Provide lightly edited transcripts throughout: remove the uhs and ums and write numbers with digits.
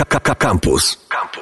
Campus.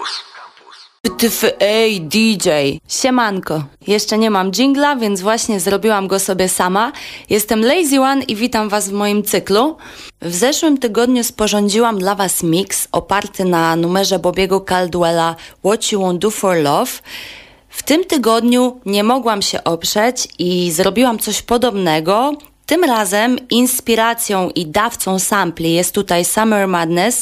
Ej, DJ! Siemanko! Jeszcze nie mam dżingla, więc właśnie zrobiłam go sobie sama. Jestem Lazy One i witam was w moim cyklu. W zeszłym tygodniu sporządziłam dla was mix oparty na numerze Bobiego Caldwella What You Won't Do For Love. W tym tygodniu nie mogłam się oprzeć i zrobiłam coś podobnego. Tym razem inspiracją i dawcą sampli jest tutaj Summer Madness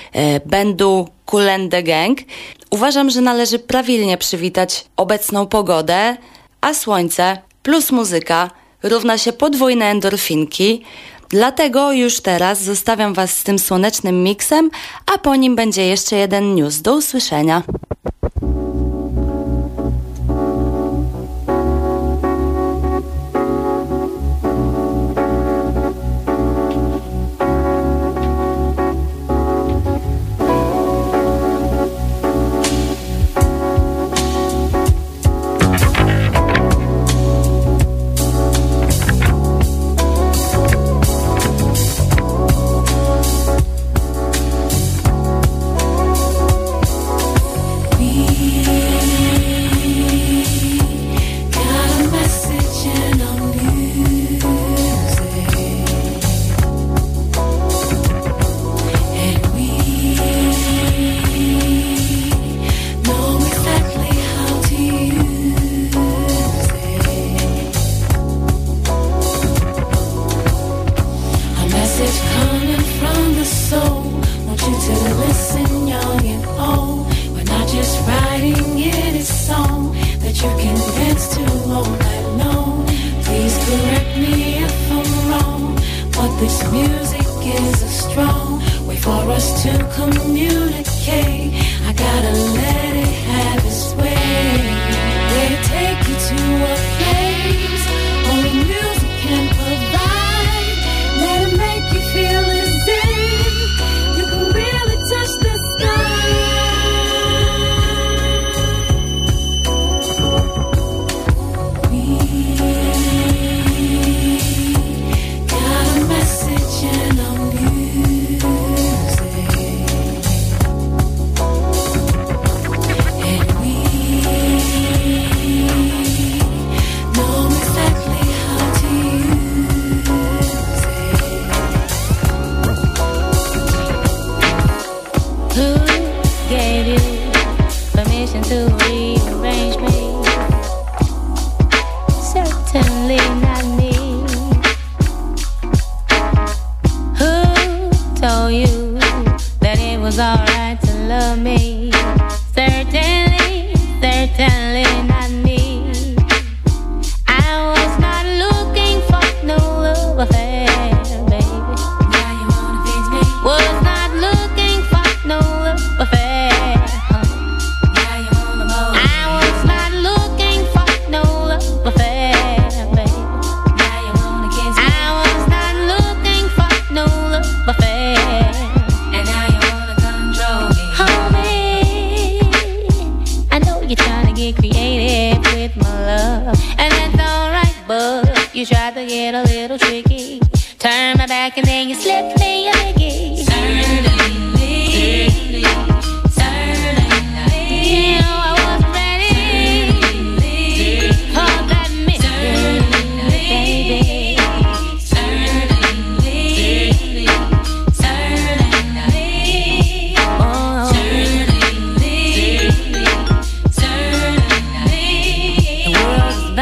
bandu Kool and the Gang. Uważam, że należy prawilnie przywitać obecną pogodę, a słońce plus muzyka równa się podwójne endorfinki. Dlatego już teraz zostawiam was z tym słonecznym miksem, a po nim będzie jeszcze jeden news. Do usłyszenia.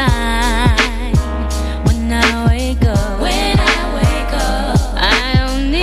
When I wake up, I don't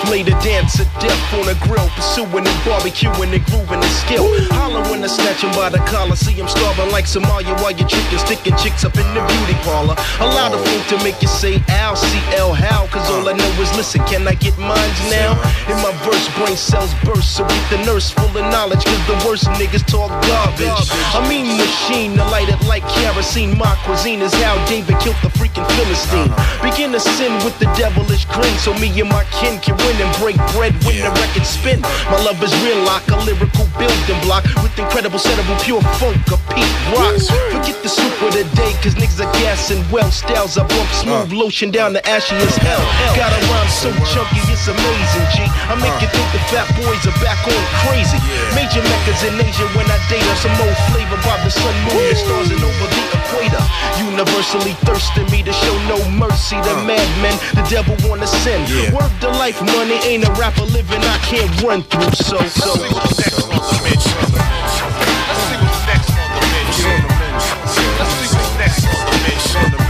lay the dance of death on a grill, pursuing and barbecuing and grooving and skill. Holler when I snatch him by the collar, see him starving like Somalia while you're tricking, sticking chicks up in the beauty parlor. Allow the food to make you say Al, CL, how, cause all I know is listen, can I get mines now? In my verse, brain cells burst, so beat the nurse full of knowledge, cause the worst niggas talk garbage. I mean machine, to light it like kerosene. My cuisine is how David killed the freaking Philistine. Begin to sin with the devilish grin, so me and my kin can win and break bread when the record spin. My love is real like a lyrical building block with incredible settable pure funk of Pete Rocks. Forget the soup of the day, cause niggas are gassing well. Styles I bump smooth, lotion down the ashy as hell. Got a rhyme so chunky, it's amazing, G. I make it think the fat boys are back on crazy. Major meccas in Asia when I date her. Some old flavor by the sun, moon, and stars and over the equator. Universally thirsting me to show no mercy to madmen. The devil wanna sin. Work the life, money ain't a rapper living I can't run through. So. Let's see what's next on the menu. Let's see what's next on the menu. Let's see what's next on the menu. Let's see what's next.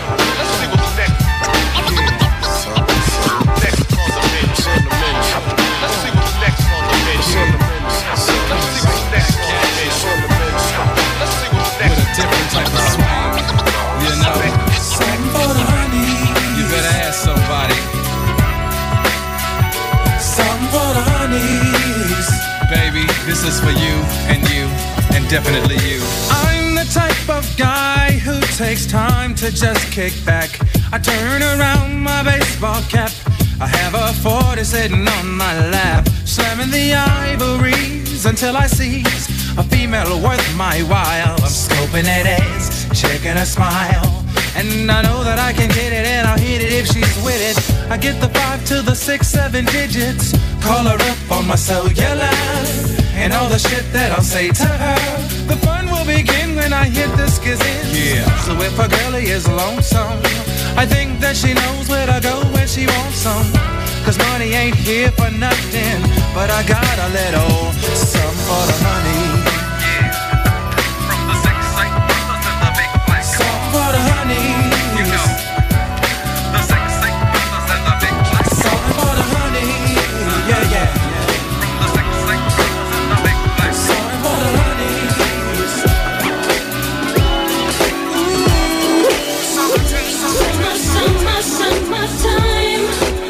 Different type of swing, you know. Something for the honey. You better ask somebody. Something for the honeys. Baby, this is for you, and definitely you. I'm the type of guy who takes time to just kick back. I turn around my baseball cap. I have a 40 sitting on my lap, slamming the ivories until I seize a female worth my while. I'm scoping that ass, checking her smile, and I know that I can get it and I'll hit it if she's with it. I get the 5 to the 6, 7 digits, call her up on my cellular, and all the shit that I'll say to her. The fun will begin when I hit the skizzin'. Yeah. So if a girlie is lonesome, I think that she knows where to go when she wants some. Cause money ain't here for nothing, but I got a little some for the honey. From the sex site brothers and the big black car. Some for the honey. You know, the sex site brothers and the big black car. Some for the honey. Yeah, yeah. From the sex site brothers and the big black car. Some for the honey. Summertime.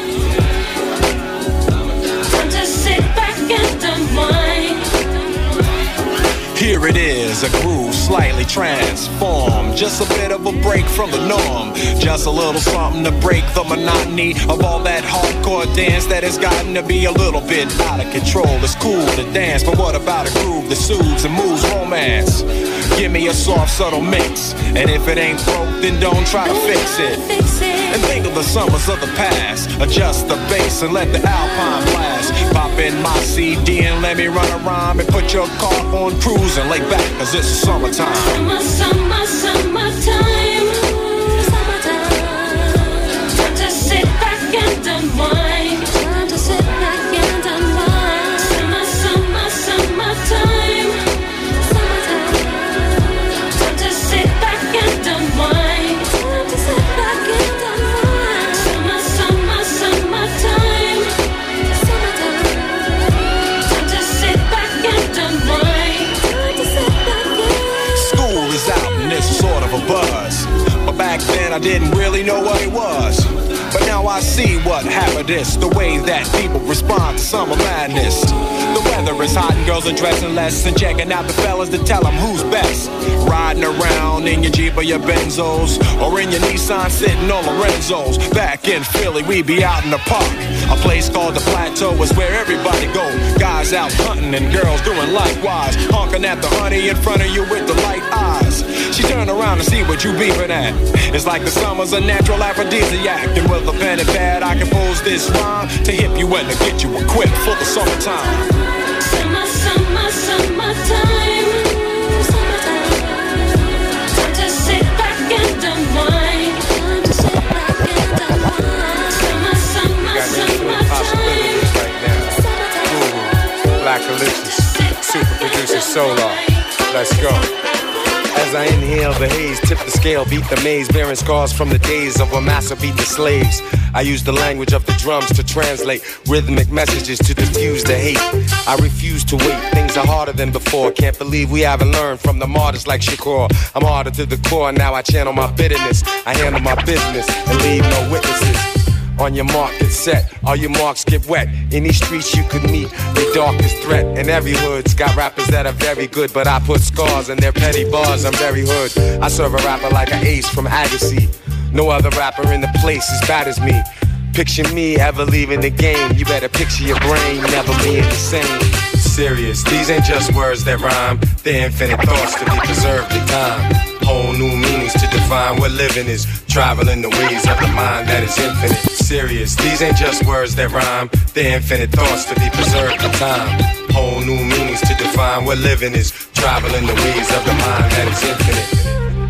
Time to sit back and unwind. Here it is, a groove slightly transformed. Just a bit of a break from the norm. Just a little something to break the monotony of all that hardcore dance that has gotten to be a little bit out of control. It's cool to dance, but what about a groove that soothes and moves romance? Give me a soft, subtle mix, and if it ain't broke, then don't try to fix it. And think of the summers of the past. Adjust the bass and let the Alpine blast. Pop in my CD and let me run a rhyme and put your car on cruise and lay back, cause it's summertime. Summertime. Time to sit back and unwind. Time to sit back and unwind. Summertime. Time to sit back and unwind. Time to sit back and unwind. Summertime. Time to sit back and unwind. Time to sit back and... School is out and it's sort of a buzz, but back then I didn't really know what it was. But now I see what happened is the way that people respond to summer madness. The weather is hot and girls are dressing less and checking out the fellas to tell them who's best. Riding around in your Jeep or your Benzos, or in your Nissan sitting on Lorenzo's. Back in Philly, we be out in the park. A place called the Plateau is where everybody go. Guys out hunting and girls doing likewise. Honking at the honey in front of you with the light eyes. She turn around and see what you beeping at. It's like the summer's a natural aphrodisiac. And with a pen and pad I compose this rhyme to hip you and to get you equipped for the summertime. Summertime. Time to sit back and unwind. Time to sit back and unwind. Summertime. Black Alicious, super producer Solar. Let's go. As As I inhale the haze, tip the scale, beat the maze, bearing scars from the days of when massa beat the slaves. I use the language of the drums to translate rhythmic messages to diffuse the hate. I refuse to wait, things are harder than before. Can't believe we haven't learned from the martyrs like Shakur. I'm harder to the core, now I channel my bitterness. I handle my business and leave no witnesses. On your mark, get set, all your marks get wet. In these streets you could meet the darkest threat. And every hood's got rappers that are very good, but I put scars in their petty bars, I'm very hood. I serve a rapper like an ace from Agassi. No other rapper in the place as bad as me. Picture me ever leaving the game. You better picture your brain never being the same. Serious, these ain't just words that rhyme. They're infinite thoughts to be preserved in time. Whole new meanings to define what living is. Traveling the ways of the mind that is infinite. Serious, these ain't just words that rhyme. They're infinite thoughts to be preserved in time. Whole new meanings to define what living is. Traveling the ways of the mind that is infinite.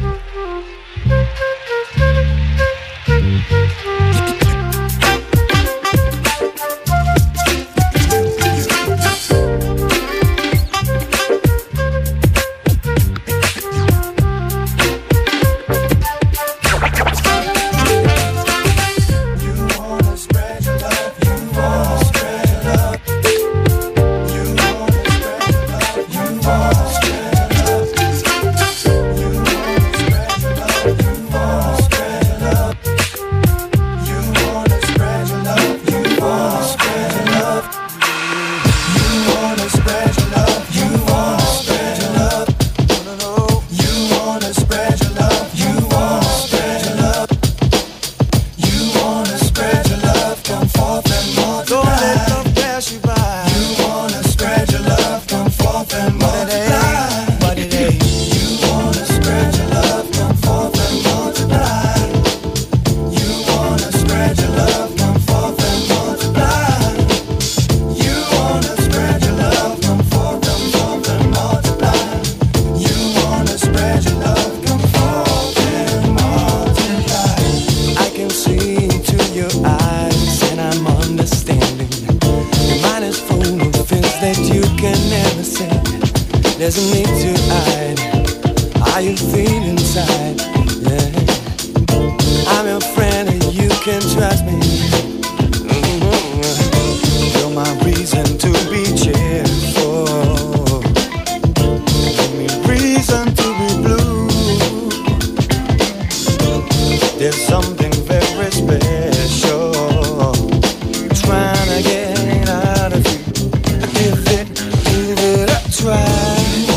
There's a need to hide how you feel inside, yeah. I'm your friend and you can trust me. You're my reason to be cheerful. Give me reason to be blue. There's something very special trying to get out of you. Give it a try.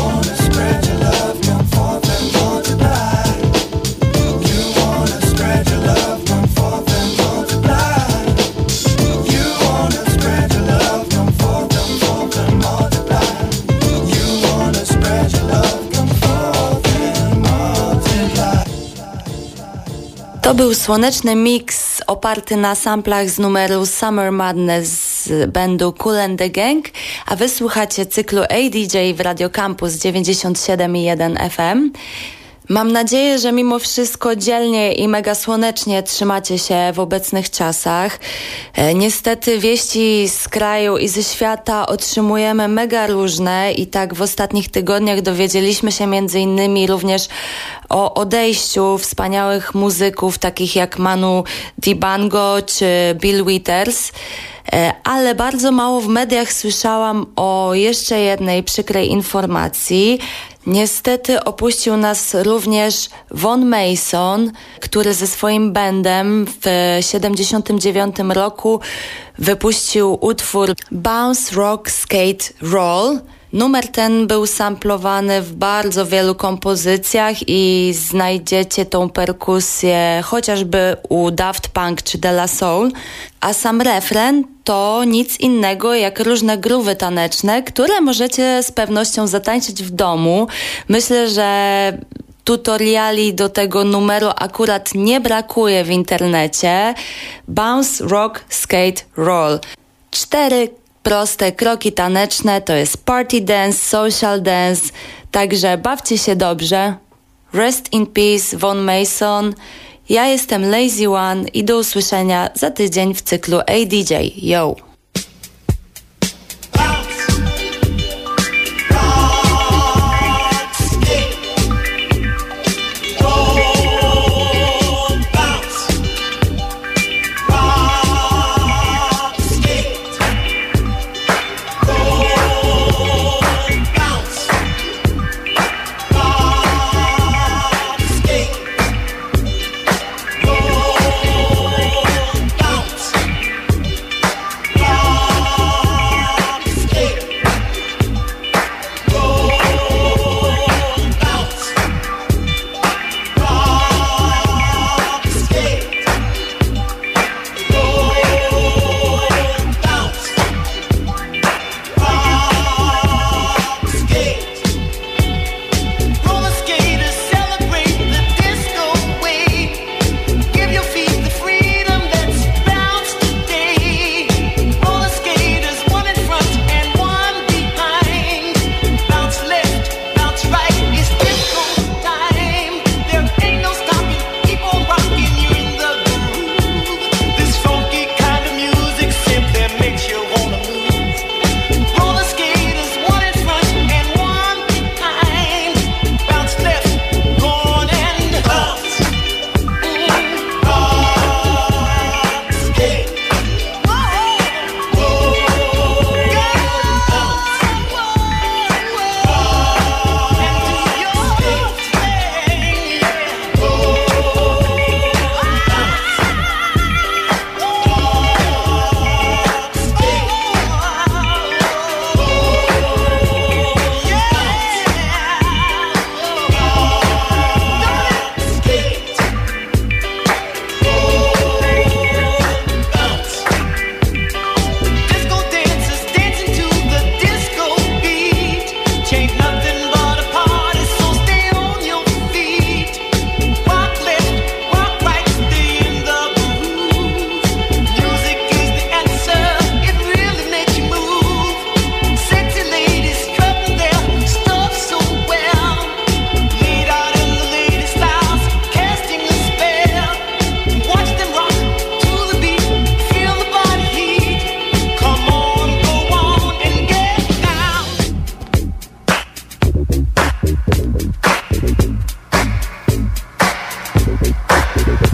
To był słoneczny mix oparty na samplach z numeru Summer Madness z bandu Kool and the Gang, a wysłuchacie cyklu ADJ w Radio Campus 97,1 FM. Mam nadzieję, że mimo wszystko dzielnie i mega słonecznie trzymacie się w obecnych czasach. Niestety wieści z kraju i ze świata otrzymujemy mega różne i tak w ostatnich tygodniach dowiedzieliśmy się między innymi również o odejściu wspaniałych muzyków takich jak Manu Dibango czy Bill Withers. Ale bardzo mało w mediach słyszałam o jeszcze jednej przykrej informacji. Niestety opuścił nas również Von Mason, który ze swoim bandem w 1979 roku wypuścił utwór Bounce, Rock, Skate, Roll. Numer ten był samplowany w bardzo wielu kompozycjach i znajdziecie tą perkusję chociażby u Daft Punk czy De La Soul, a sam refren to nic innego jak różne groove'y taneczne, które możecie z pewnością zatańczyć w domu. Myślę, że tutoriali do tego numeru akurat nie brakuje w internecie. Bounce, Rock, Skate, Roll. 4 proste kroki taneczne to jest party dance, social dance, także bawcie się dobrze. Rest in peace, Von Mason. Ja jestem Lazy One i do usłyszenia za tydzień w cyklu ADJ. Yo!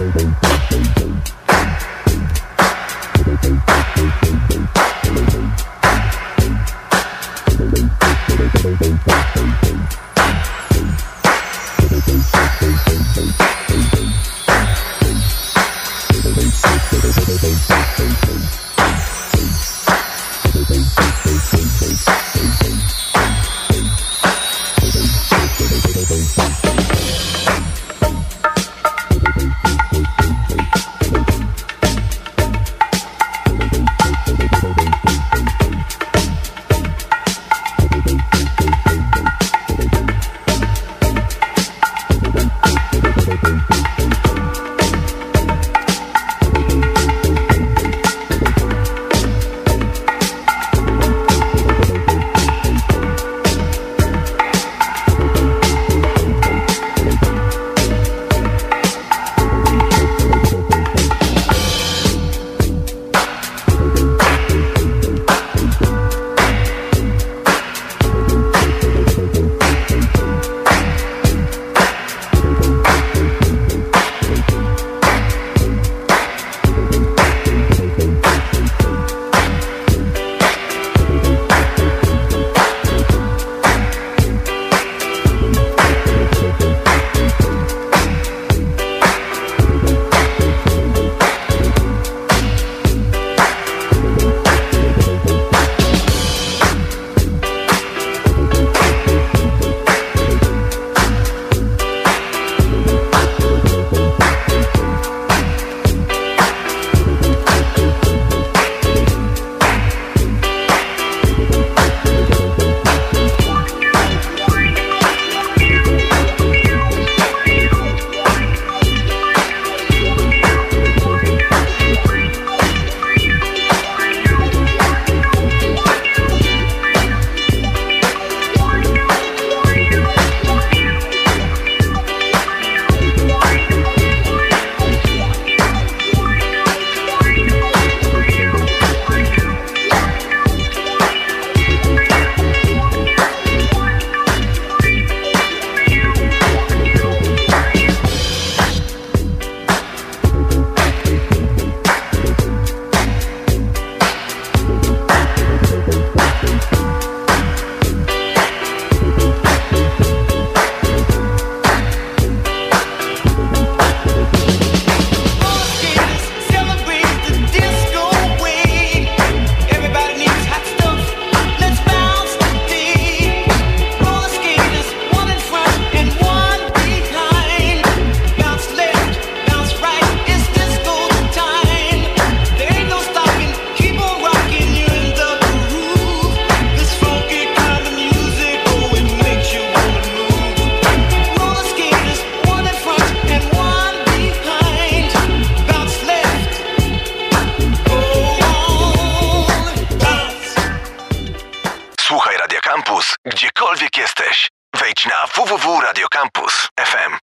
Gdziekolwiek jesteś, wejdź na www.radiocampus.fm.